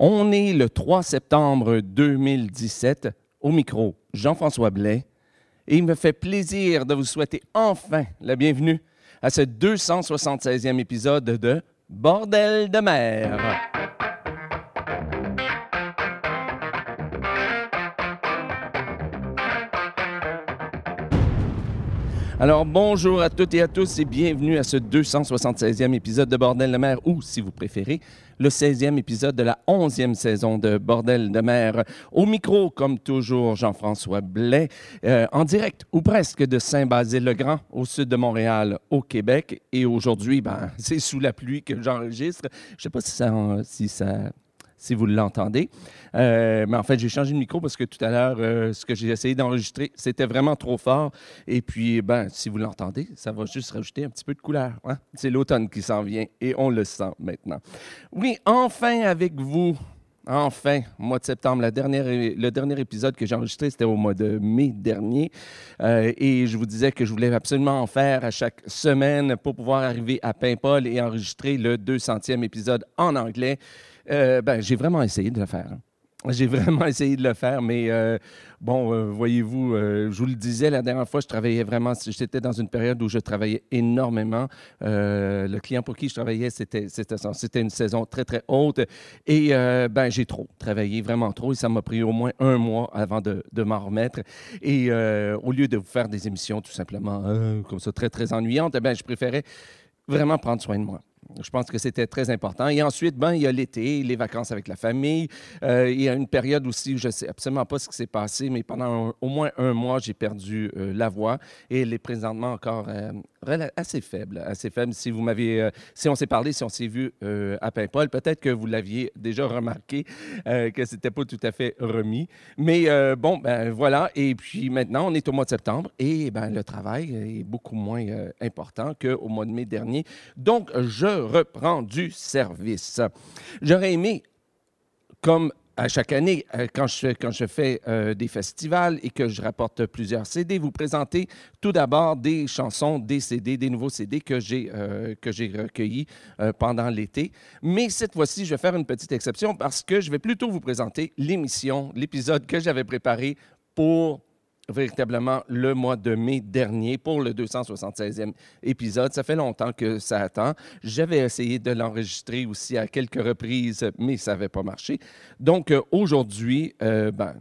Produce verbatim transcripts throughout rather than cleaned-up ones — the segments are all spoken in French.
On est le trois septembre deux mille dix-sept. Au micro, Jean-François Blais. Et il me fait plaisir de vous souhaiter enfin la bienvenue à ce deux cent soixante-seizième épisode de Bordel de mer. Alors, bonjour à toutes et à tous et bienvenue à ce deux cent soixante-seizième épisode de Bordel de mer, ou, si vous préférez, le seizième épisode de la onzième saison de Bordel de mer. Au micro, comme toujours, Jean-François Blais, euh, en direct, ou presque, de Saint-Basile-le-Grand, au sud de Montréal, au Québec. Et aujourd'hui, ben, c'est sous la pluie que j'enregistre. Je ne sais pas si ça... Si ça si vous l'entendez. Euh, mais en fait, j'ai changé de micro parce que tout à l'heure, euh, ce que j'ai essayé d'enregistrer, c'était vraiment trop fort. Et puis, ben, si vous l'entendez, ça va juste rajouter un petit peu de couleur. Hein? C'est l'automne qui s'en vient et on le sent maintenant. Oui, enfin avec vous. Enfin, mois de septembre, la dernière, le dernier épisode que j'ai enregistré, c'était au mois de mai dernier. Euh, et je vous disais que je voulais absolument en faire à chaque semaine pour pouvoir arriver à Paimpol et enregistrer le deux centième épisode en anglais. Euh, ben, j'ai vraiment essayé de le faire. Hein. J'ai vraiment essayé de le faire, mais euh, bon, euh, voyez-vous, euh, je vous le disais la dernière fois, je travaillais vraiment, j'étais dans une période où je travaillais énormément. Euh, le client pour qui je travaillais, c'était, c'était, c'était une saison très, très haute. Et euh, ben, j'ai trop travaillé, vraiment trop, et ça m'a pris au moins un mois avant de, de m'en remettre. Et euh, au lieu de vous faire des émissions tout simplement euh, comme ça, très, très ennuyantes, ben, je préférais vraiment prendre soin de moi. Je pense que c'était très important. Et ensuite, ben, il y a l'été, les vacances avec la famille. Euh, il y a une période aussi où je ne sais absolument pas ce qui s'est passé, mais pendant un, au moins un mois, j'ai perdu euh, la voix et elle est présentement encore euh, assez faible. Assez faible. Si vous m'avez, euh, si on s'est parlé, si on s'est vu euh, à Paimpol, peut-être que vous l'aviez déjà remarqué euh, que ce n'était pas tout à fait remis. Mais euh, bon, ben voilà. Et puis maintenant, on est au mois de septembre et ben, le travail est beaucoup moins euh, important qu'au mois de mai dernier. Donc, je reprends du service. J'aurais aimé, comme à chaque année, quand je, quand je fais euh, des festivals et que je rapporte plusieurs C D, vous présenter tout d'abord des chansons, des C D, des nouveaux C D que j'ai, euh, que j'ai recueillis euh, pendant l'été. Mais cette fois-ci, je vais faire une petite exception parce que je vais plutôt vous présenter l'émission, l'épisode que j'avais préparé pour véritablement le mois de mai dernier pour le deux cent soixante-seizième épisode. Ça fait longtemps que ça attend. J'avais essayé de l'enregistrer aussi à quelques reprises, mais ça n'avait pas marché. Donc, euh, aujourd'hui, euh, ben,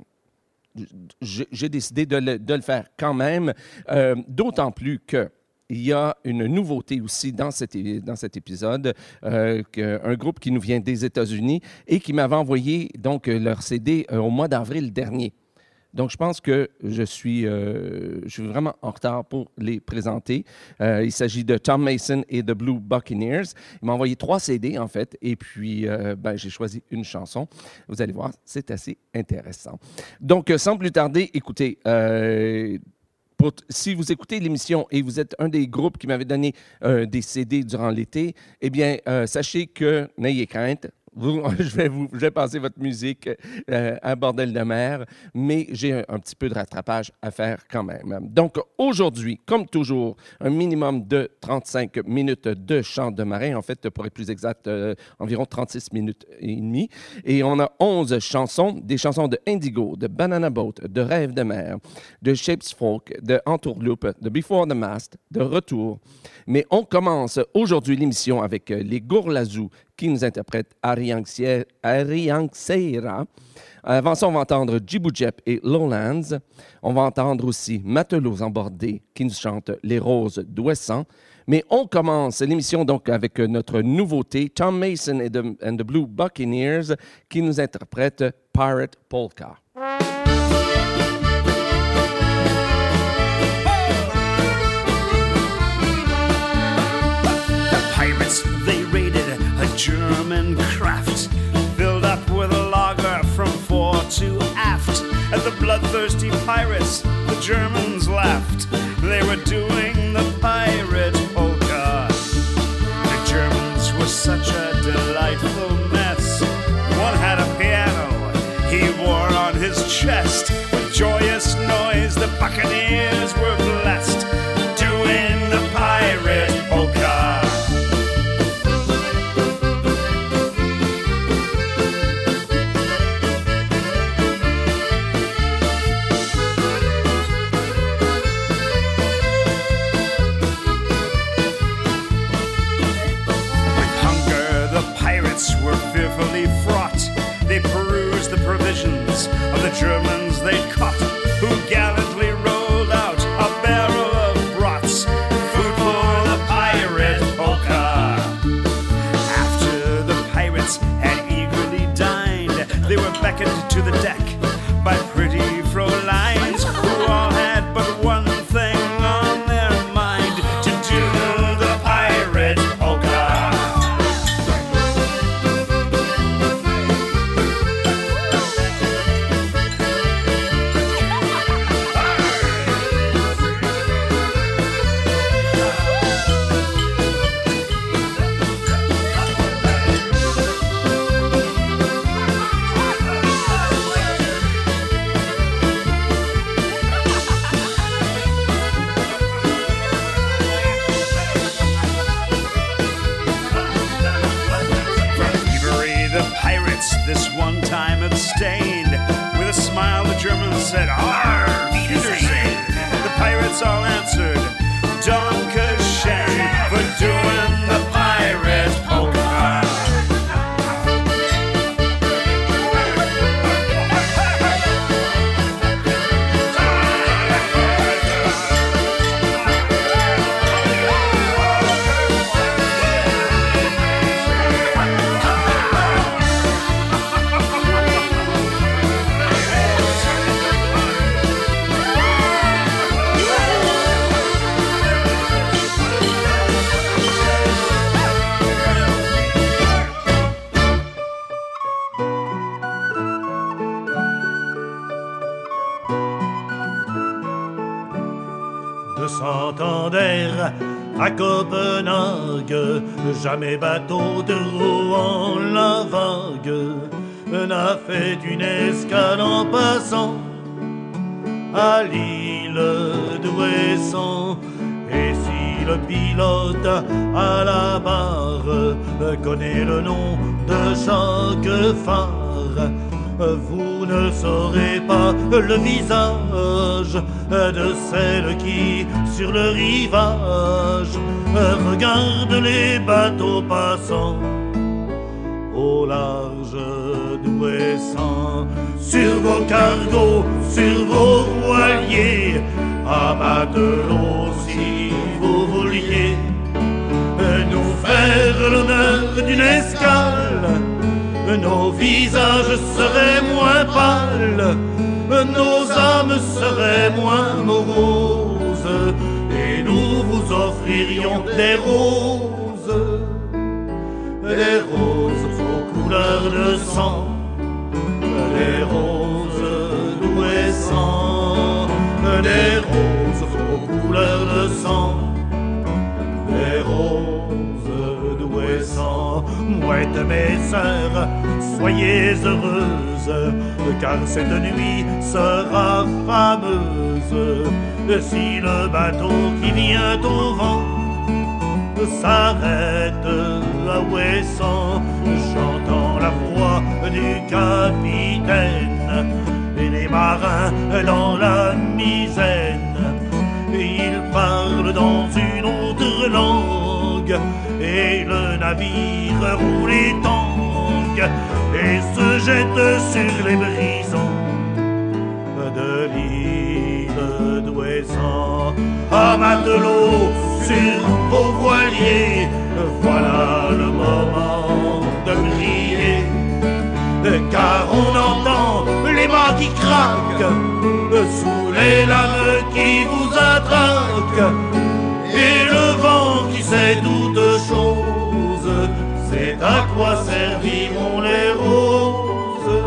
j'ai décidé de le, de le faire quand même, euh, d'autant plus que il y a une nouveauté aussi dans cet, dans cet épisode, euh, un groupe qui nous vient des États-Unis et qui m'avait envoyé donc, leur C D euh, au mois d'avril dernier. Donc, je pense que je suis, euh, je suis vraiment en retard pour les présenter. Euh, il s'agit de Tom Mason et The Blue Buccaneers. Ils m'ont envoyé trois C D, en fait, et puis euh, ben, j'ai choisi une chanson. Vous allez voir, c'est assez intéressant. Donc, sans plus tarder, écoutez, euh, pour, si vous écoutez l'émission et vous êtes un des groupes qui m'avait donné euh, des C D durant l'été, eh bien, euh, sachez que, n'ayez crainte, Vous, je, vais vous, je vais passer votre musique euh, à Bordel de mer, mais j'ai un, un petit peu de rattrapage à faire quand même. Donc, aujourd'hui, comme toujours, un minimum de trente-cinq minutes de chant de marin. En fait, pour être plus exact, euh, environ trente-six minutes et demie. Et on a onze chansons, des chansons de Indigo, de Banana Boat, de Rêve de mer, de Shapes Folk, de Entourloupe, de Before the Mast, de Retour. Mais on commence aujourd'hui l'émission avec les Gourlazous qui nous interprètent Ariang Seira. Avant ça, on va entendre Djibou Jep et Lowlands. On va entendre aussi Matelots embordés qui nous chantent Les Roses d'Ouessant. Mais on commence l'émission donc avec notre nouveauté, Tom Mason et the, and the Blue Buccaneers qui nous interprètent Pirate Polka. German craft filled up with a lager from fore to aft. At the bloodthirsty pirates, the Germans laughed. They were doing the pirate polka. The Germans were such a delightful mess. One had a piano he wore on his chest. With joyous noise, the buccaneers were blessed, doing the pirate polka. beckoned to the deck by pretty Frolines who all had but one thing on their mind, to do the pirate polka. This one time abstained. With a smile the Germans said, "Arr, Wiedersehen." The pirates all answered, "Dankeschön," for doing the pirate polka. De Santander à Copenhague, jamais bateau de Rouen la vague n'a fait une escale en passant à l'île d'Ouessant. Et si le pilote à la barre connaît le nom de chaque phare, vous ne saurez pas le visage de celle qui, sur le rivage, regarde les bateaux passant au large d'Ouessant. Sur vos cargos, sur vos voiliers, à matelot si vous vouliez nous faire l'honneur d'une escale, nos visages seraient moins pâles, nos âmes seraient moins moroses, et nous vous offririons des roses, des roses aux couleurs de sang, des roses d'Ouessant, des roses aux couleurs de sang, des roses d'Ouessant. Mouettes mes sœurs, soyez heureuses, car cette nuit sera fameuse. Si le bateau qui vient au vent s'arrête à Ouessant, chantant la voix du capitaine, et les marins dans la misaine, ils parlent dans une autre langue, et le navire roule et tangue et se jette sur les brisants de l'île d'Ouessant. À matelot, sur vos voiliers, voilà le moment de briller, car on entend les mâts qui craquent sous les lames qui vous attraquent, et le vent qui sait toutes choses. C'est à quoi serviront les roses,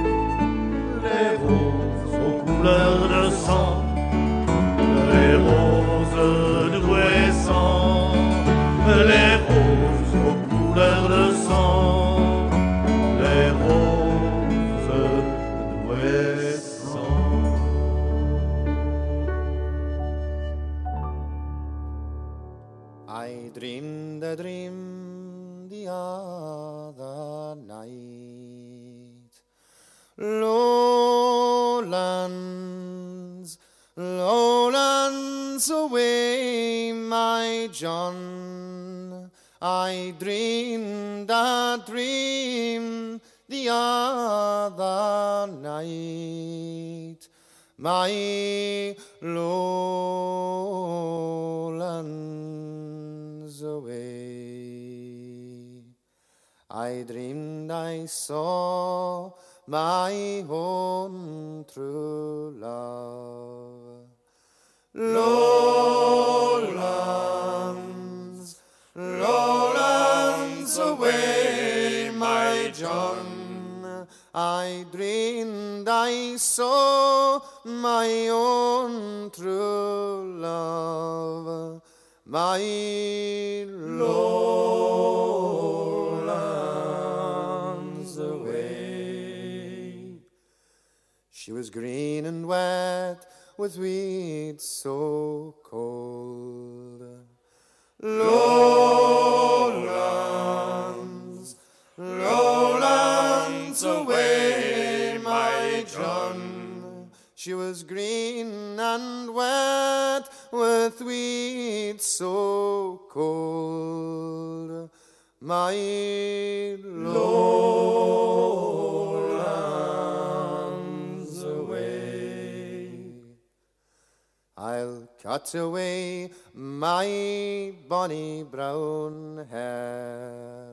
les roses aux couleurs de sang, les roses d'Ouessant, les roses aux couleurs de sang, les roses d'Ouessant. I dreamed a dream the other night. Lowlands, lowlands away, my John. I dreamed a dream the other night. My lowlands away. I dreamed I saw my own true love. Lowlands, lowlands away, my John, I dreamed I saw my own true love, my lowlands away. She was green and wet with weeds so cold. Lowlands, lowlands away, my John. She was green and wet with weeds so cold, my lowlands away. I'll cut away my bonny brown hair.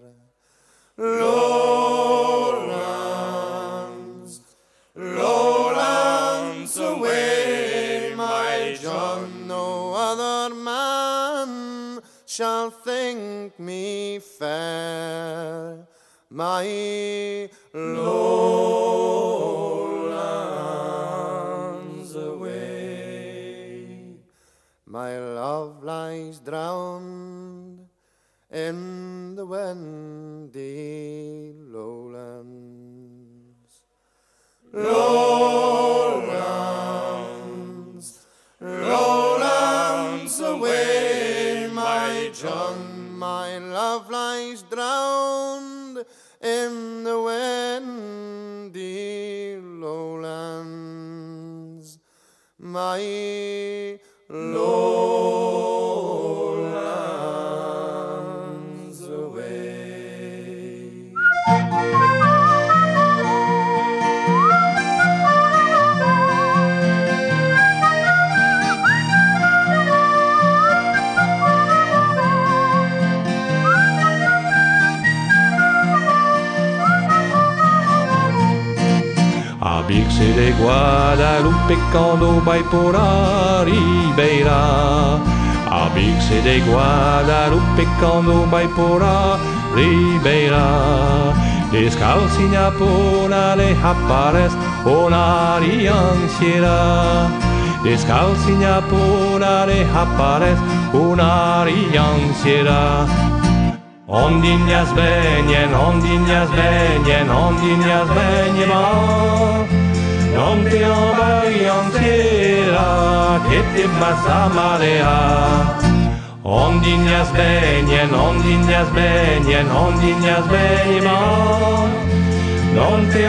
Lowlands, lowlands away, my John. No other man shall think me fair, my lowlands away. My love lies drowned in the windy lowlands. Lowlands, lowlands away, my John. My love lies drowned in the windy lowlands, my lowlands away. A Birse de Guadalupe quando vai por a Ribeira. A Birse de Guadalupe quando vai por a Ribeira. Descalcinha por ale aparece una rianciera. Descalcinha por ale aparece una rianciera. Ondinjas venjen, ondinjas venjen, ondinjas venjen, non te envahirá, que te vas a marear. Ondinjas venjen, ondinjas venjen, ondinjas venjen, non te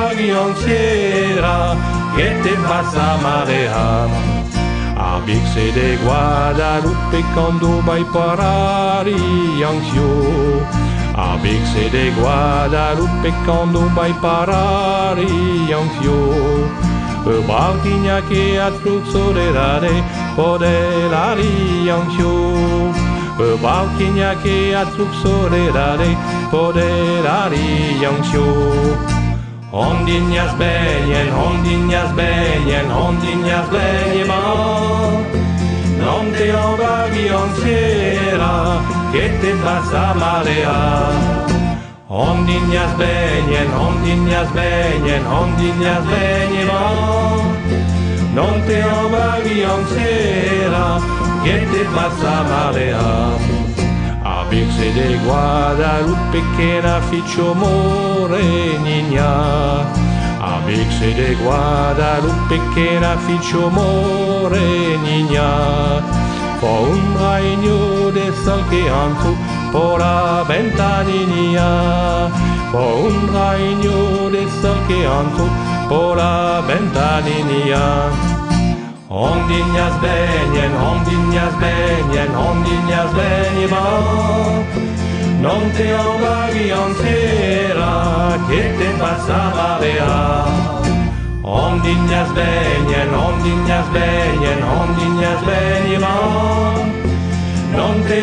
envahirá, que te vas a marear. A Birse de Guadalupe quando vai para Riancio. A Birse de Guadalupe quando vai para Riancio. O barquinha que a truxorerare podela Riancio. O barquinha que a truxorerare podela Riancio. Ondinjas venjen, ondinjas venjen, ondinjas venjen, non te envahirá, que te vas a marear. Ondinjas venjen, ondinjas venjen, ondinjas venjen, non te envahirá, que te vas a marear. A Birse de Guadalupe che na ficcio morenigna. A Birse de Guadalupe che na ficcio morenigna. Po un regno de sol che antu po la ventaninia. Po un regno de sol che antu po la ventaninia. Ondinjas venjen, ondinjas venjen, ondinjas venjen, non te envahirá, que te vas a marear. Ondinjas venjen, ondinjas venjen, ondinjas venjen, non te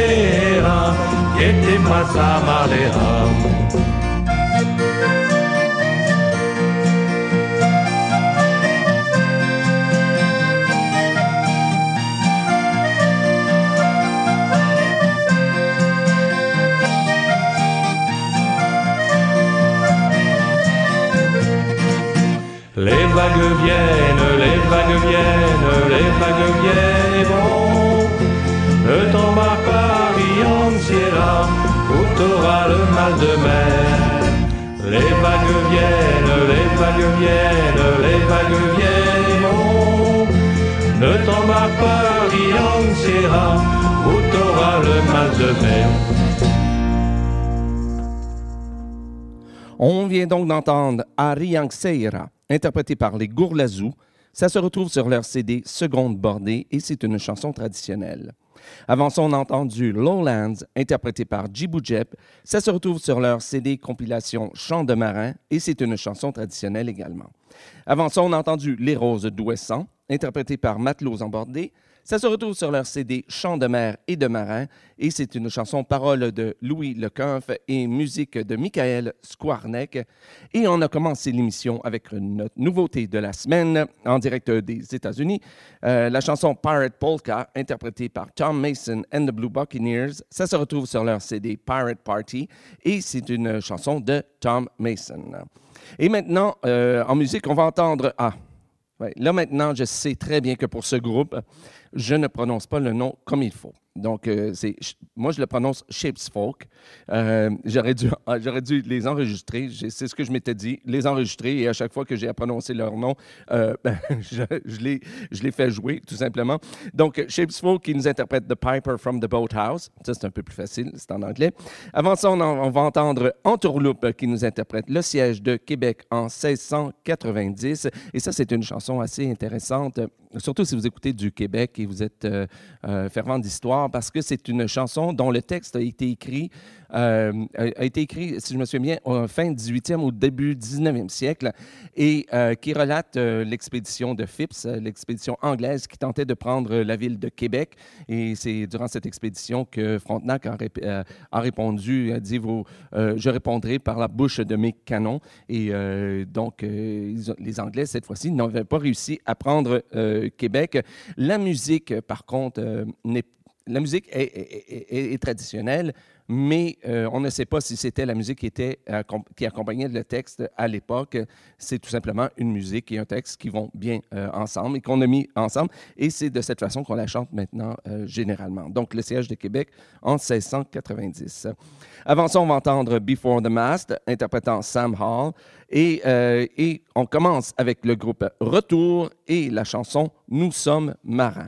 envahirá, que te vas a marear. vagues viennent, les vagues viennent, les vagues viennent et vont. Ne t'embarque pas, Rianciera, ou t'auras le mal de mer. Les vagues viennent, les vagues viennent, les vagues viennent et vont. Ne t'embarque pas, Rianciera, ou t'auras le mal de mer. On vient donc d'entendre Arianxeira, interprété par les Gourlazous. Ça se retrouve sur leur C D Seconde Bordée et c'est une chanson traditionnelle. Avant ça, on a entendu Lowlands, interprété par Djibou Jep. Ça se retrouve sur leur C D compilation Chants de marin et c'est une chanson traditionnelle également. Avant ça, on a entendu Les Roses d'Ouessant, interprété par Matelots en Bordée. Ça se retrouve sur leur C D Chants de mer et de marin et c'est une chanson parole de Louis Lecoeuf et musique de Michael Skwarnek. Et on a commencé l'émission avec notre nouveauté de la semaine en direct des États-Unis, euh, la chanson Pirate Polka, interprétée par Tom Mason and the Blue Buccaneers. Ça se retrouve sur leur C D Pirate Party et c'est une chanson de Tom Mason. Et maintenant, euh, en musique, on va entendre... Ah, ouais, là maintenant, je sais très bien que pour ce groupe, je ne prononce pas le nom comme il faut. Donc, euh, c'est, moi, je le prononce Shapes Folk. Euh, j'aurais, dû, j'aurais dû les enregistrer. J'ai, c'est ce que je m'étais dit, les enregistrer. Et à chaque fois que j'ai à prononcer leur nom, euh, ben, je, je, les, je les fais jouer, tout simplement. Donc, Shapes Folk qui nous interprète The Piper from the Boathouse. Ça, c'est un peu plus facile, c'est en anglais. Avant ça, on, en, on va entendre Entourloupe qui nous interprète Le siège de Québec en seize cent quatre-vingt-dix. Et ça, c'est une chanson assez intéressante, surtout si vous écoutez du Québec et vous êtes euh, euh, fervent d'histoire, parce que c'est une chanson dont le texte a été écrit, euh, a été écrit, si je me souviens bien, en fin dix-huitième ou début dix-neuvième siècle, et euh, qui relate euh, l'expédition de Phipps, l'expédition anglaise qui tentait de prendre la ville de Québec. Et c'est durant cette expédition que Frontenac a, rép- euh, a répondu, a dit vous, euh, « Je répondrai par la bouche de mes canons ». Et euh, donc, euh, ils ont, les Anglais, cette fois-ci, n'avaient pas réussi à prendre euh, Québec. La musique, par contre, euh, n'est La musique est, est, est, est traditionnelle, mais euh, on ne sait pas si c'était la musique qui, était, euh, qui accompagnait le texte à l'époque. C'est tout simplement une musique et un texte qui vont bien euh, ensemble et qu'on a mis ensemble. Et c'est de cette façon qu'on la chante maintenant euh, généralement. Donc, le siège de Québec en seize cent quatre-vingt-dix. Avant ça, on va entendre Before the Mast, interprétant Sam Hall. Et, euh, et on commence avec le groupe Retour et la chanson Nous sommes marins.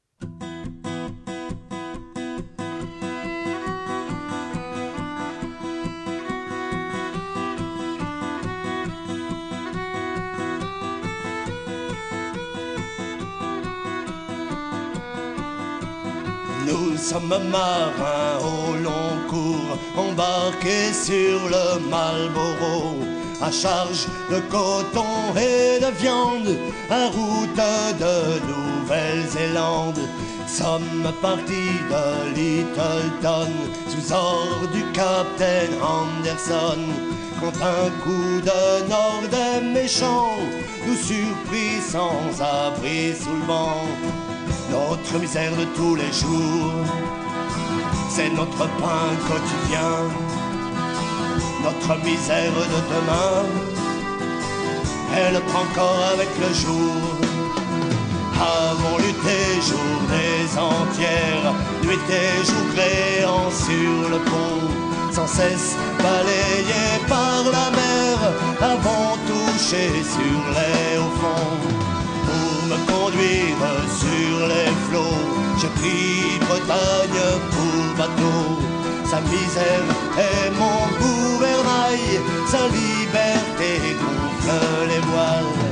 Nous sommes marins au long cours, embarqués sur le Marlborough, à charge de coton et de viande, à route de Nouvelle-Zélande. Sommes partis de Littleton, sous ordre du capitaine Anderson, quand un coup de nord des méchants nous surprit sans abri sous le vent. Notre misère de tous les jours, c'est notre pain quotidien. Notre misère de demain, elle prend corps avec le jour. Avons lutté journées entières, nuit et jour créant sur le pont, sans cesse balayés par la mer, avons touché sur les hauts fonds. Pour me conduire sur les flots, j'ai pris Bretagne pour bateau. Sa misère est mon gouvernail, sa liberté gonfle les voiles.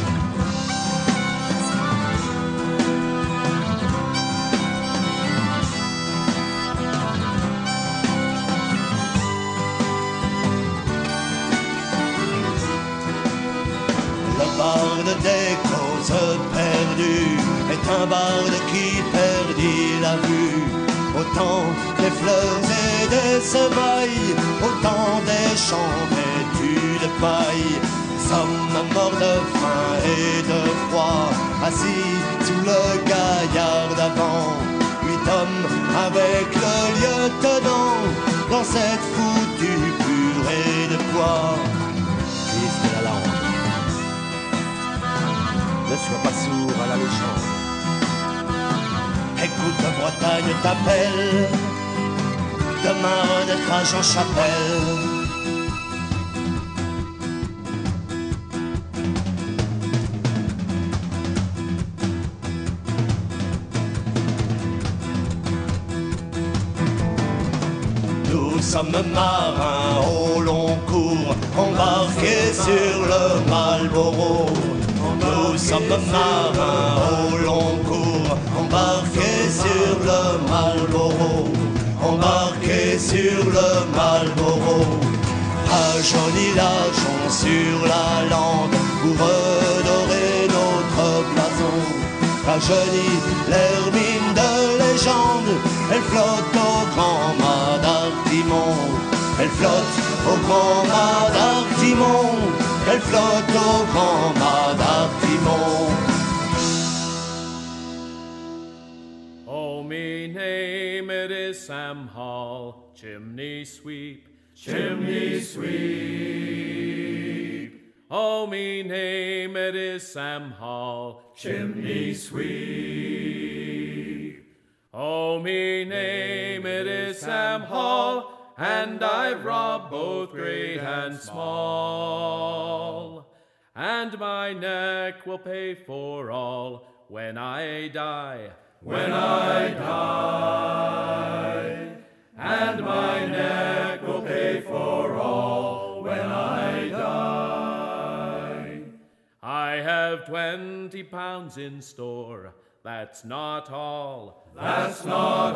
Le barde des causes perdues est un barde qui perdit la vue. Autant des fleurs et des semailles, autant des champs vêtus de paille. Sommes morts de faim et de froid, assis sous le gaillard d'avant. Huit hommes avec le lieutenant, dans cette foutue purée de poids. Fils de la langue. légende. Écoute, Bretagne t'appelle, demain renaîtra Jean Chapelle. Nous sommes marins au long cours, embarqués sur le Marlborough. Nous sommes marins au long cours, embarqués sur le Marlborough. Embarqués sur le Marlborough. Rajeunis l'argent sur la lande pour redorer notre blason. Rajeunis l'hermine de légende, elle flotte au grand mât d'Artimon. Elle flotte au grand mât d'Artimon. Elle flotte au grand mât d'Artimon. Oh, me name it is Sam Hall, chimney sweep, chimney sweep. Oh, me name it is Sam Hall, chimney sweep. Oh, me name it is Sam Hall, and I've robbed both great and small. And my neck will pay for all when I die. When I die, and my neck will pay for all when I die. I have twenty pounds in store, that's not all, that's not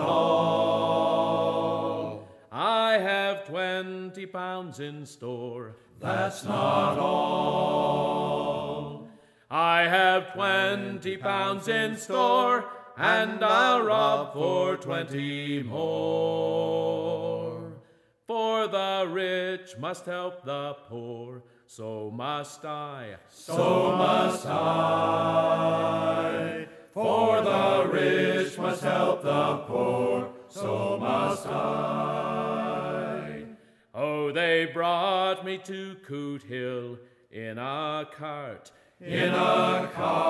all. I have twenty pounds in store, that's not all. I have twenty pounds in store, and I'll rob for twenty more. For the rich must help the poor, so must I, so must I. For the rich must help the poor, so must I. Oh, they brought me to Coot Hill in a cart, in a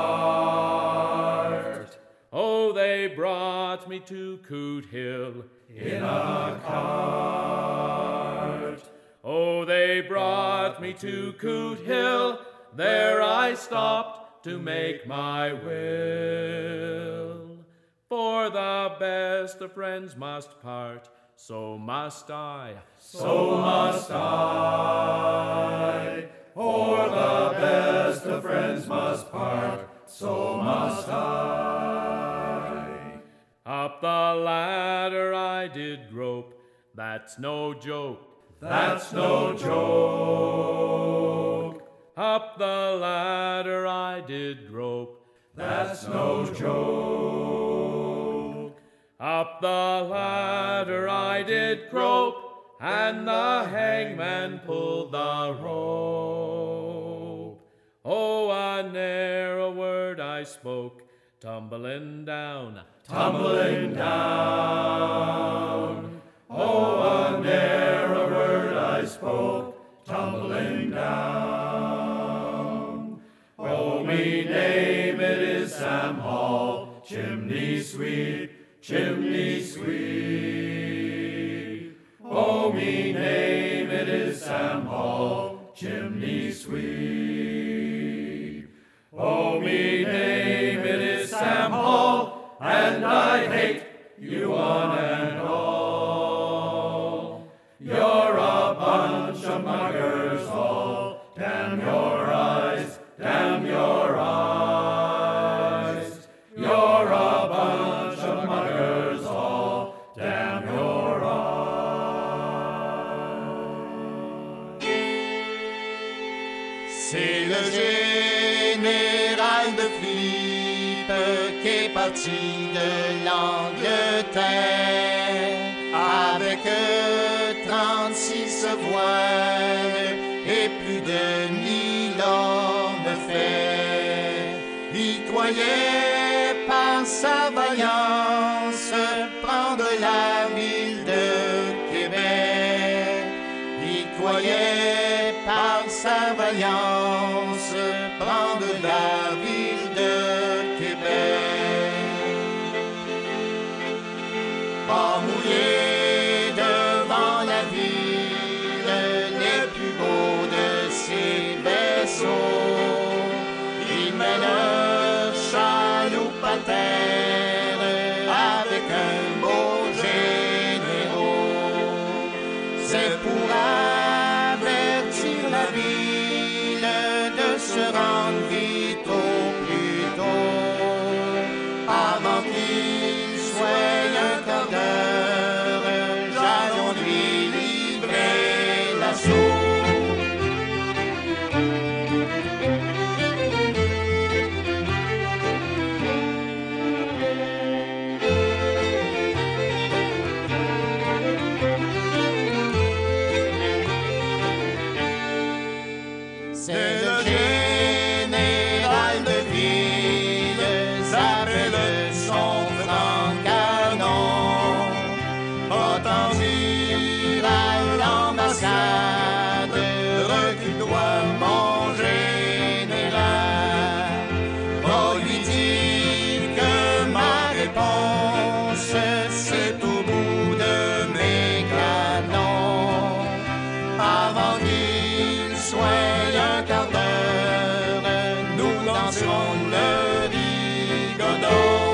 cart. Oh, they brought me to Coot Hill in a cart. Oh, they brought me to Coot Hill, there I stopped to make my will. For the best of friends must part, so must I, so must I. For the best of friends must part, so must I. Up the ladder I did grope, that's no joke, that's no joke. Up the ladder I did grope, that's no joke. Up the ladder I did grope, and the hangman pulled the rope. Oh, a narrow word I spoke, tumbling down, tumbling down. Oh, a narrow word I spoke, tumbling down. Oh, me name it is Sam Hall, chimney sweep, chimney sweep. Oh, me name it is Sam Hall, chimney sweep. Oh, me name it is Sam Hall, and I hate you one and all. You're a bunch of muggers all, damn your eyes, damn your eyes. You're a bunch of muggers all, damn your eyes. C'est le général de Philippe qui est parti de l'Angleterre avec trente-six voiles et plus de mille hommes de fer. Il croyait par sa vaillance prendre la ville de Québec. Il croyait par sa vaillance prendre la ville de Québec. de se rendre vite au plus tôt, avant qu'il soit un quart d'heure, j'allons lui livrer l'assaut. C'est le général de ville, s'appelle son franc canon. Autant dire à l'ambassade, recule-toi mon général. Oh, lui dire que ma réponse, c'est au bout de mes canons. Avant qu'il soit un quart d'heure, nous danserons le rigodon.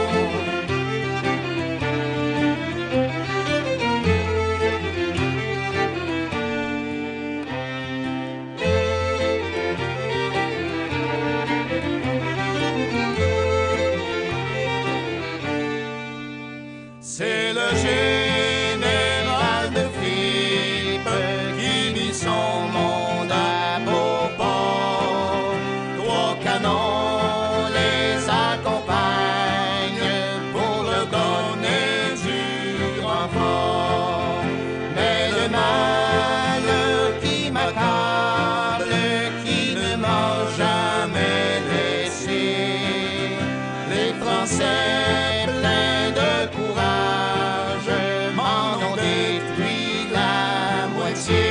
C'est le général de Philippe qui mit son monde à beau port. Trois canons les accompagnent pour leur donner du renfort. Mais le mal qui m'accable, qui ne m'a jamais laissé, les Français pleins de courage m'en ont détruit la moitié.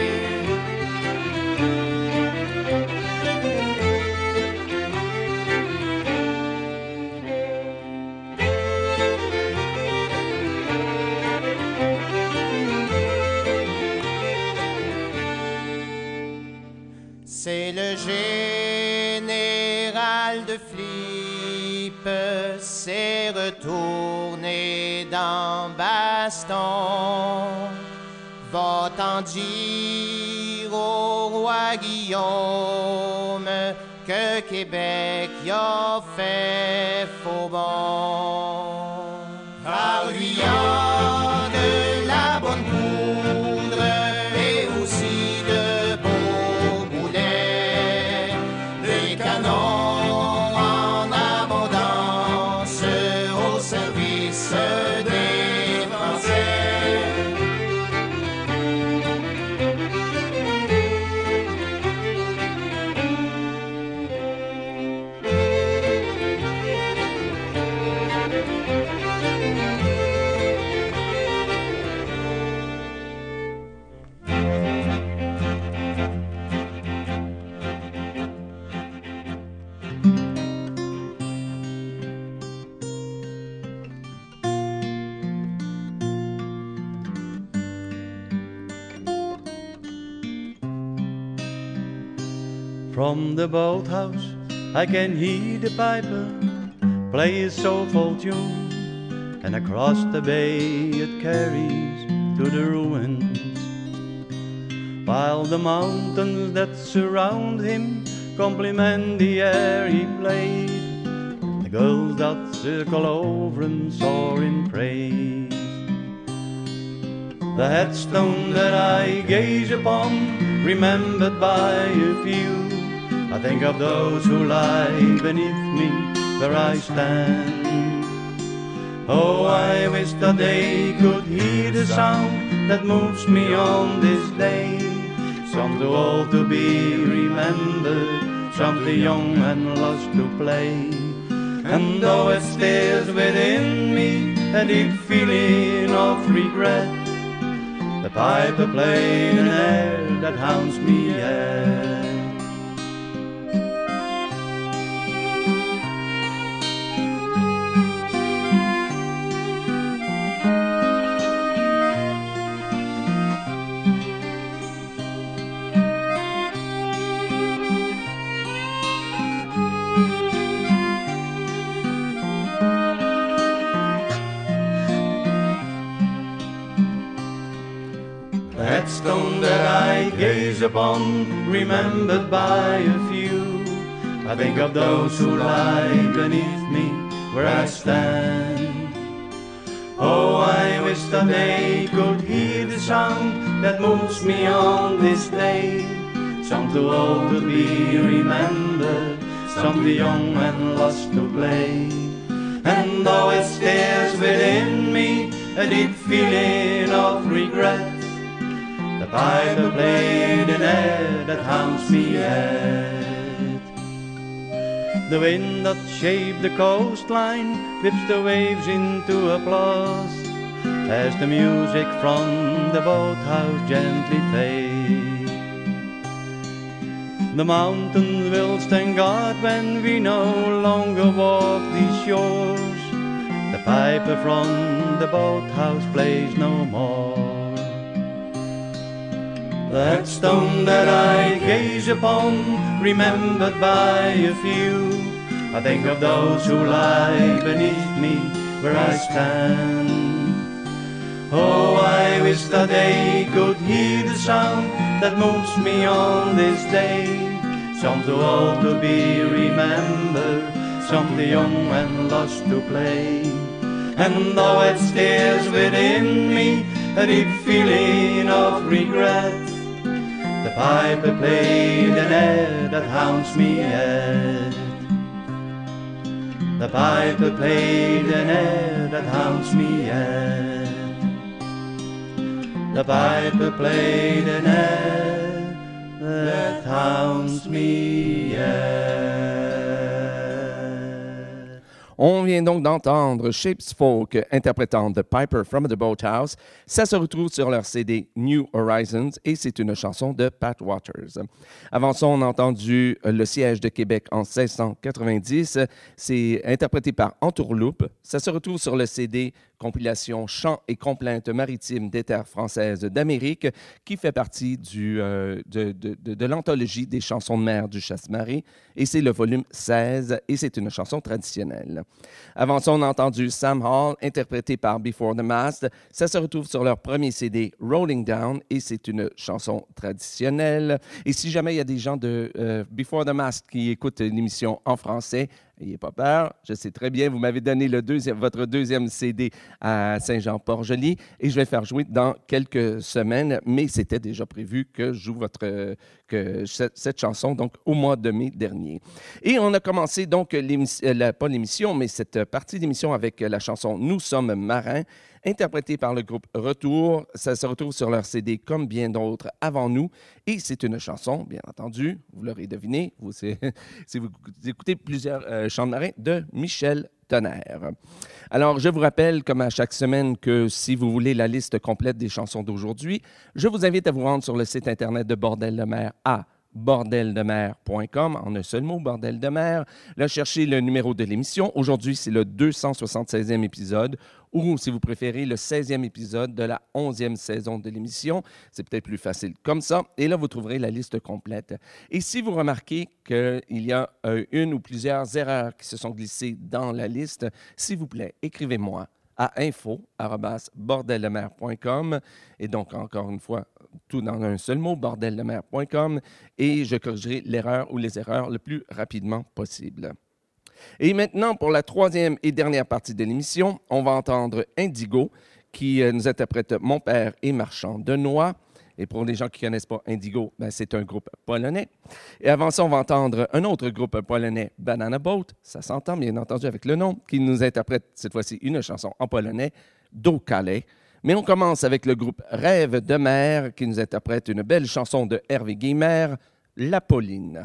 C'est le général de Philippe, s'est retourné dans Baston. Va-t'en dire au roi Guillaume que Québec y a fait faux bon. Car lui y a de la bonne poudre et aussi de beaux boulets, des canons en abondance au service des Français. From the boathouse I can hear the piper play his soulful tune, and across the bay it carries to the ruins, while the mountains that surround him compliment the air he played, and the girls that circle over him soar in praise. The headstone that I gaze upon, remembered by a few, I think of those who lie beneath me where I stand. Oh, I wish that they could hear the sound that moves me on this day. Some too old to be remembered, some too young and lost to play. And though it stirs within me a deep feeling of regret, the piper played an air that haunts me yet. Headstone that I gave gaze upon, remembered by a few. I think of those who lie beneath me where I stand. Oh, I wish that they could hear the sound that moves me on this day. Some too old to be remembered, some too young and lost to play. And though it stares within me a deep feeling of regret, the piper played an air that haunts me yet. The wind that shaped the coastline whips the waves into applause as the music from the boathouse gently fades. The mountains will stand guard when we no longer walk these shores. The piper from the boathouse plays no more. That stone that I gaze upon, remembered by a few, I think of those who lie beneath me where I stand. Oh, I wish that they could hear the sound that moves me on this day. Some too old to be remembered, some too young and lost to play. And though it stirs within me a deep feeling of regret, the piper played an air that haunts me yet. The piper played an air that haunts me yet. The piper played an air that haunts me yet. On vient donc d'entendre Shapes Folk interprétant The Piper from the Boathouse. Ça se retrouve sur leur C D New Horizons et c'est une chanson de Pat Waters. Avant ça, on a entendu Le Siège de Québec en seize cent quatre-vingt-dix. C'est interprété par Entourloupe. Ça se retrouve sur le C D compilation Chants et complaintes maritimes des terres françaises d'Amérique, qui fait partie du, euh, de, de, de, de l'anthologie des chansons de mer du Chasse-Marée. Et c'est le volume seize, et c'est une chanson traditionnelle. Avant ça, on a entendu Sam Hall, interprété par Before the Mast. Ça se retrouve sur leur premier C D, Rolling Down, et c'est une chanson traditionnelle. Et si jamais il y a des gens de euh, Before the Mast qui écoutent l'émission en français, n'ayez pas peur, je sais très bien, vous m'avez donné le deuxième, votre deuxième C D à Saint-Jean-Port-Joli et je vais faire jouer dans quelques semaines, mais c'était déjà prévu que je joue votre, que cette, cette chanson donc au mois de mai dernier. Et on a commencé donc, l'émission, la, pas l'émission, mais cette partie d'émission avec la chanson « Nous sommes marins », interprétée par le groupe Retour. Ça se retrouve sur leur C D comme bien d'autres avant nous. Et c'est une chanson, bien entendu, vous l'aurez deviné, vous, si vous écoutez plusieurs euh, chants de marins, de Michel Tonnerre. Alors, je vous rappelle, comme à chaque semaine, que si vous voulez la liste complète des chansons d'aujourd'hui, je vous invite à vous rendre sur le site Internet de Bordel de mer à bordel de mer point com, en un seul mot, Bordel de mer. Là, cherchez le numéro de l'émission. Aujourd'hui, c'est le deux cent soixante-seizième épisode, ou, si vous préférez, le seizième épisode de la onzième saison de l'émission. C'est peut-être plus facile comme ça. Et là, vous trouverez la liste complète. Et si vous remarquez qu'il y a euh, une ou plusieurs erreurs qui se sont glissées dans la liste, s'il vous plaît, écrivez-moi à info arobase bordel de mer point com. Et donc, encore une fois, tout dans un seul mot, bordel de mer point com, et je corrigerai l'erreur ou les erreurs le plus rapidement possible. Et maintenant, pour la troisième et dernière partie de l'émission, on va entendre Indigo, qui nous interprète Mon père est marchand de noix. Et pour les gens qui ne connaissent pas Indigo, ben, c'est un groupe polonais. Et avant ça, on va entendre un autre groupe polonais, Banana Boat, ça s'entend bien entendu avec le nom, qui nous interprète cette fois-ci une chanson en polonais, Do Calais. Mais on commence avec le groupe Rêve de mer, qui nous interprète une belle chanson de Hervé Guillemert, La Pauline.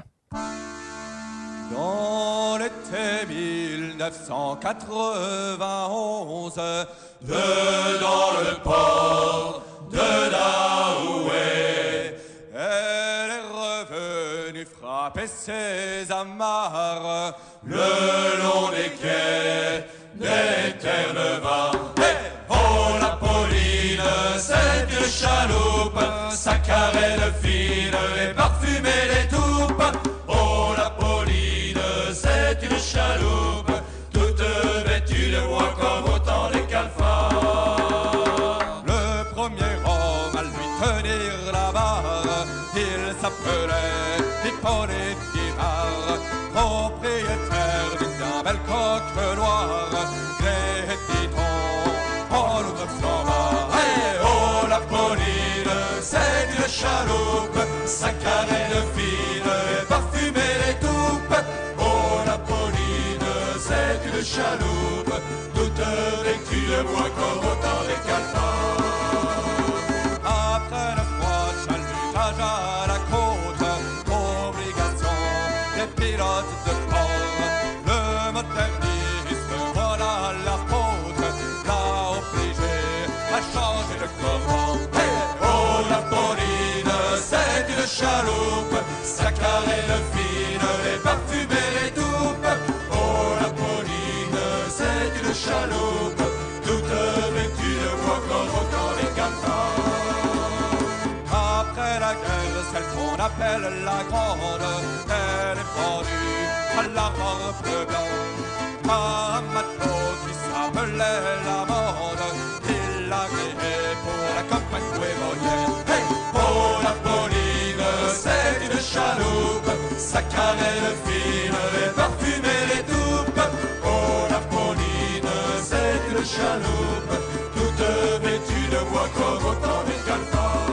Dans l'été mille neuf cent quatre-vingt-onze, de dans le port de Daoué, elle est revenue frapper ses amarres le long des quais des terres de vin. Hey, oh la Pauline, c'est une chaloupe, sa carène fine et parfumée des toupes. Oh la Pauline, c'est une chaloupe, toute vêtue de bois comme au temps des calfats. Le premier homme à lui tenir la barre, il René Pirard, propriétaire d'une bien belle coque noire. Gré-dit-on, en nous neuf cent vingt. Hey, oh, la Pauline, c'est une chaloupe, sa carène fine et parfumée les toupes. Oh, la Pauline, c'est une chaloupe, toute vêtue de bois comme autant des calfans. Après le froid chalutage à la côte, obligation des pilotes de port, le modernisme, voilà la faute, l'a obligé à changer de commande. Hey, oh, la Pauline, c'est une chaloupe, sa carène fine et parfumée les toupes. Oh, la Pauline, c'est une chaloupe, toute vêtue de bois comme autant les calfans. Après la guerre, celle qu'on appelle la grande, elle est pendue à la robe blanche. Un matelot qui s'appelait la Mande, il l'a créé pour la campagne ouémonienne. Hey, oh, la Pauline, c'est une chaloupe, sa carène fine et parfumée les toupes. Oh, la Pauline, c'est une chaloupe, toute vêtue de bois comme autant des calfans.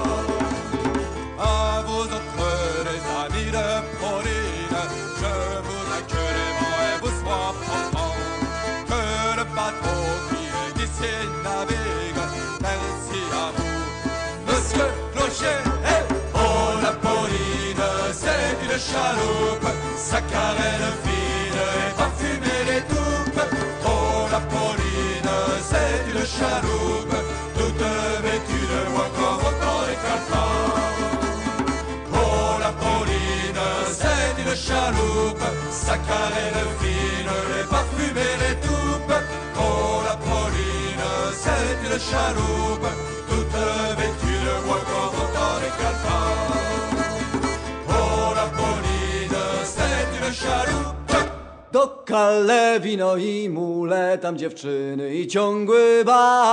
À vous autres, les amis de Pauline, je voudrais que les vents vous soient profonds, que le bateau qui est ici navigue. Merci à vous, monsieur Clocher. Hey, oh, la Pauline, c'est une chaloupe, sa carène fine et parfumée les toupes. Oh, la Pauline, c'est une chaloupe, toute vêtue de bois comme autant les calfans. Oh, la Pauline, c'est une chaloupe, sa carène fine et parfumée les toupes. Oh, la Pauline, c'est une chaloupe, toute vêtue de bois comme autant les calfans. Oh, la Pauline, c'est une chaloupe. Do Calais wino i mule, tam dziewczyny i ciągły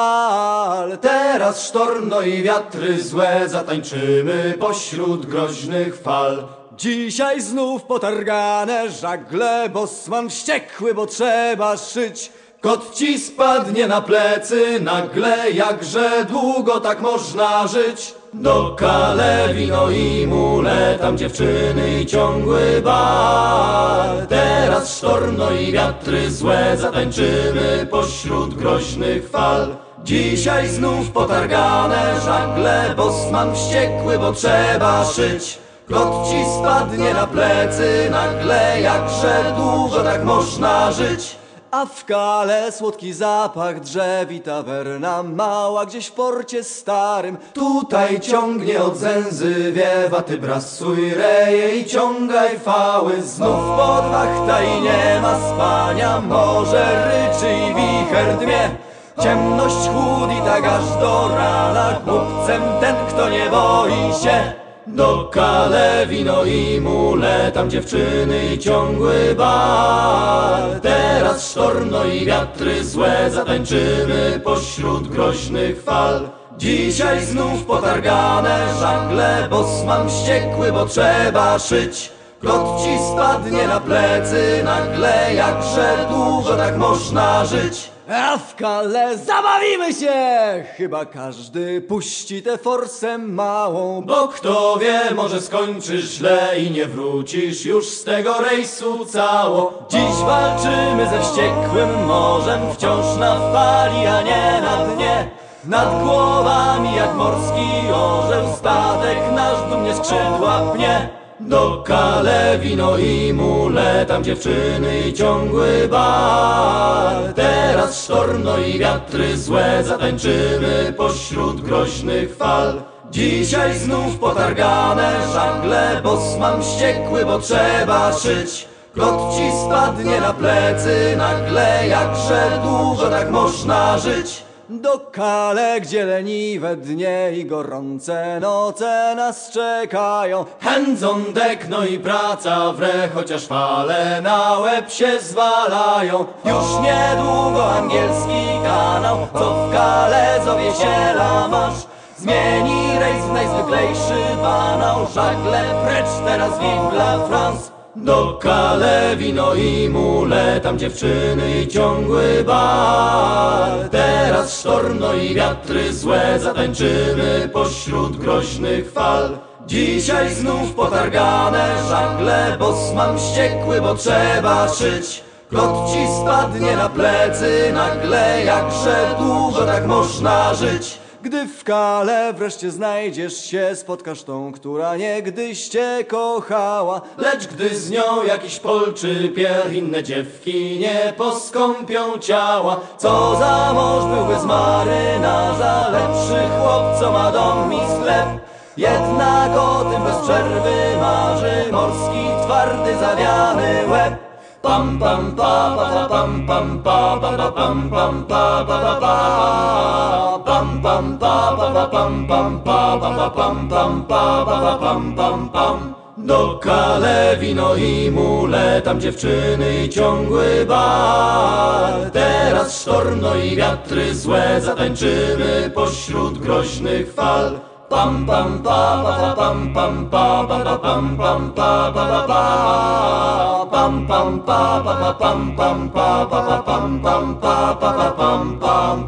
bal. Teraz sztorm i wiatry złe, zatańczymy pośród groźnych fal. Dzisiaj znów potargane żagle, bosman wściekły, bo trzeba szyć. Kot ci spadnie na plecy nagle, jakże długo tak można żyć. Do Calais wino i mule, tam dziewczyny i ciągły bal. Teraz sztorm i wiatry złe, zatańczymy pośród groźnych fal. Dzisiaj znów potargane żagle, bosman wściekły, bo trzeba szyć. Kot ci spadnie na plecy nagle, jakże długo tak można żyć. A w Calais słodki zapach drzew i tawerna mała gdzieś w porcie starym. Tutaj ciągnie od zęzy wiewa, ty brasuj reje i ciągaj fały. Znów podwachta i nie ma spania, morze ryczy i wicher dmie. Ciemność chłód i tak aż do rana, głupcem ten, kto nie boi się. Do Calais wino i mule, tam dziewczyny i ciągły bal. Teraz sztorm i wiatry złe, zatańczymy pośród groźnych fal. Dzisiaj znów potargane żagle, bosman wściekły, bo trzeba szyć. Kot ci spadnie na plecy nagle, jakże długo tak można żyć. A w Calais zabawimy się! Chyba każdy puści tę forsę małą, bo kto wie, może skończysz źle i nie wrócisz już z tego rejsu cało. Dziś walczymy ze wściekłym morzem, wciąż na fali, a nie na dnie. Nad głowami jak morski orzeł, statek nasz dumnie skrzydła pnie. Do Calais wino i mule, tam dziewczyny i ciągły bal. Teraz sztorm i wiatry złe, zatańczymy pośród groźnych fal. Dzisiaj znów potargane żagle, bosman wściekły, bo trzeba szyć. Kot ci spadnie na plecy nagle, jakże długo tak można żyć. Do Calais, gdzie leniwe dnie i gorące noce nas czekają. Hands on deck, no i praca w re, chociaż fale na łeb się zwalają. Już niedługo angielski kanał, co w Calais zowie się La Manche. zmieni rejs w najzwyklejszy banał. Żagle precz teraz vive la France. Do Calais wino i mule, tam dziewczyny i ciągły bal. Teraz sztorno i wiatry złe, zatańczymy pośród groźnych fal. Dzisiaj znów potargane żagle, bosman wściekły, bo trzeba szyć. Kot ci spadnie na plecy nagle, jakże długo tak można żyć. Gdy w Calais wreszcie znajdziesz się, spotkasz tą, która niegdyś cię kochała. Lecz gdy z nią jakiś Pol czy Pierre, inne dziewki nie poskąpią ciała. Co za mąż był bez marynarza, lepszy chłop, co ma dom i sklep. Jednak o tym bez przerwy marzy morski, twardy, zawiany łeb. Pam pam pa pa pa pam pam pa pa pa pam pam pa pa pa pa pam pam pa pa pa pam pam pa pa pa pam pam pa pa pa pam pam pam. Do Calais wino i mule, tam dziewczyny i ciągły bal. Teraz sztorno i wiatry złe, zatańczymy pośród groźnych fal. Pam pam pa pa pa pam pam pa pa pa pam pam pa pa pa pa pam pam pa pa pa pam pam pa pa pa pam pam pa pa pa pam pam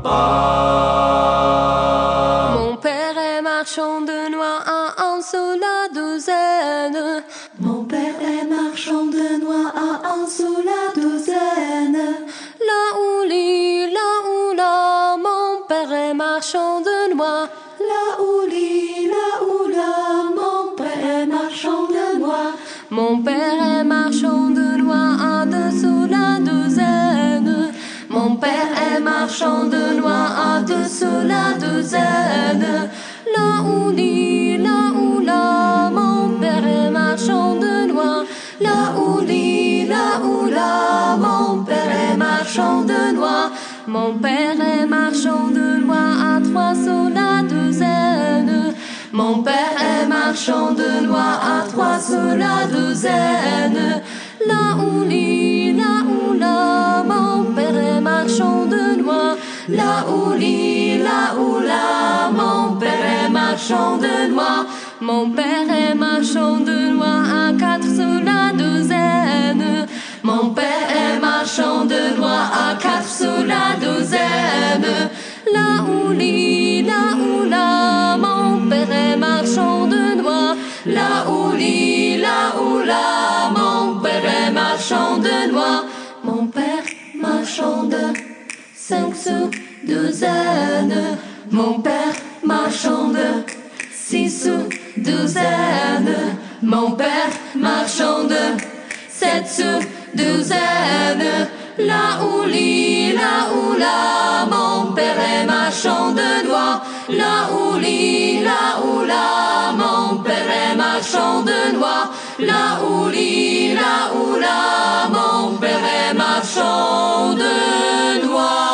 pam. Mon père est marchand de noix à un sou la douzaine. Mon père est marchand de noix à un sou la douzaine. La ouli, la oula, mon père est marchand de noix. La ouli, la oula, mon père est marchand de noix. Mon père est marchand de noix à deux sous la douzaine. Mon père est marchand de noix à deux sous la douzaine. La ouli, la oula, mon père est marchand de noix. La ouli, la oula, mon père est marchand de noix. Mon père est marchand de noix à trois sous la douzaine. Mon père est marchand de noix à trois sous la douzaine. La ouli, la oula, mon père est marchand de noix. La ouli, la oula, mon père est marchand de noix. Mon père est marchand de noix à quatre sous la douzaine. Mon père est marchand de noix à quatre sous la douzaine. La ouli, la oula, mon père est marchand de noix. La ouli, la oula, mon père est marchand de noix. Mon père marchand de cinq sous douzaine. Mon père marchand de six sous douzaine. Mon père marchand de sept sous douzaine. La ouli, la oula, mon père est marchand de noix. La ouli, la oula, mon père est marchand de noix. La ouli, la oula, mon père est marchand de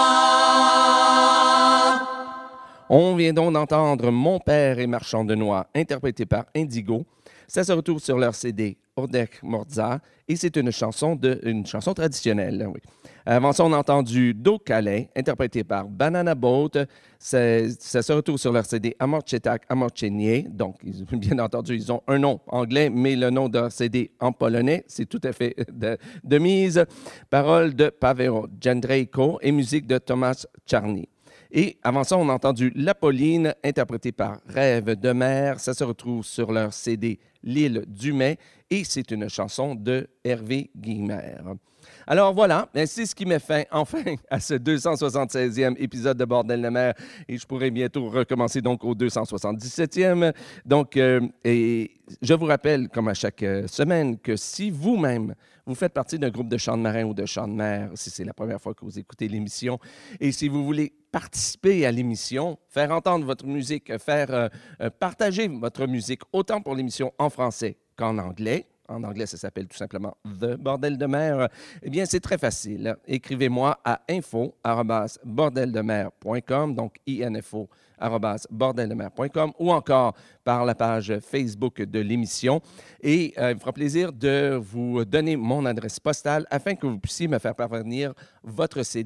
noix. On vient donc d'entendre Mon père est marchand de noix, interprété par Indigo. Ça se retrouve sur leur C D Ordech Morza et c'est une chanson, de, une chanson traditionnelle. Oui. Avant ça, on a entendu Do Calais, interprété par Banana Boat. Ça, ça se retrouve sur leur C D Amorchetak Amorchenie. Donc, bien entendu, ils ont un nom anglais, mais le nom de leur C D en polonais, c'est tout à fait de, de mise. Paroles de Paweł Jędrzejko et musique de Tomasz Czarny. Et avant ça, on a entendu La Pauline, interprétée par Rêve de mer. Ça se retrouve sur leur C D L'île du Mai et c'est une chanson de Hervé Guillemère. Alors voilà, c'est ce qui met fin enfin à ce deux cent soixante-seizième épisode de Bordel de mer et je pourrai bientôt recommencer donc au deux cent soixante-dix-septième. Donc, euh, et je vous rappelle, comme à chaque semaine, que si vous-même, vous faites partie d'un groupe de chants de marin ou de chants de mer, si c'est la première fois que vous écoutez l'émission, et si vous voulez participer à l'émission, faire entendre votre musique, faire euh, partager votre musique, autant pour l'émission en français qu'en anglais. En anglais, ça s'appelle tout simplement The Bordel de mer. Eh bien, c'est très facile. Écrivez-moi à info arobase bordel de mer point com, donc info arobase bordel de mer point com, ou encore par la page Facebook de l'émission. Et euh, il me fera plaisir de vous donner mon adresse postale afin que vous puissiez me faire parvenir votre C D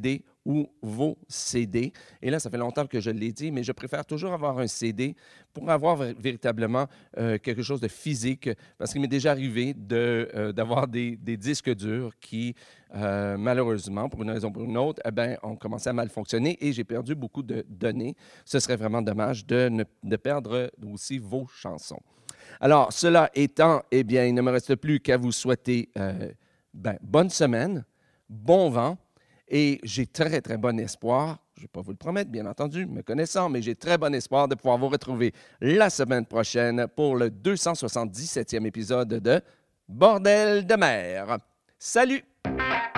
ou vos C D. Et là, ça fait longtemps que je l'ai dit, mais je préfère toujours avoir un C D pour avoir v- véritablement euh, quelque chose de physique, parce qu'il m'est déjà arrivé de, euh, d'avoir des, des disques durs qui, euh, malheureusement, pour une raison ou pour une autre, eh ben, ont commencé à mal fonctionner et j'ai perdu beaucoup de données. Ce serait vraiment dommage de, ne, de perdre aussi vos chansons. Alors, cela étant, eh bien, il ne me reste plus qu'à vous souhaiter euh, ben, bonne semaine, bon vent, et j'ai très, très bon espoir, je ne vais pas vous le promettre, bien entendu, me connaissant, mais j'ai très bon espoir de pouvoir vous retrouver la semaine prochaine pour le deux cent soixante-dix-septième épisode de Bordel de mer. Salut!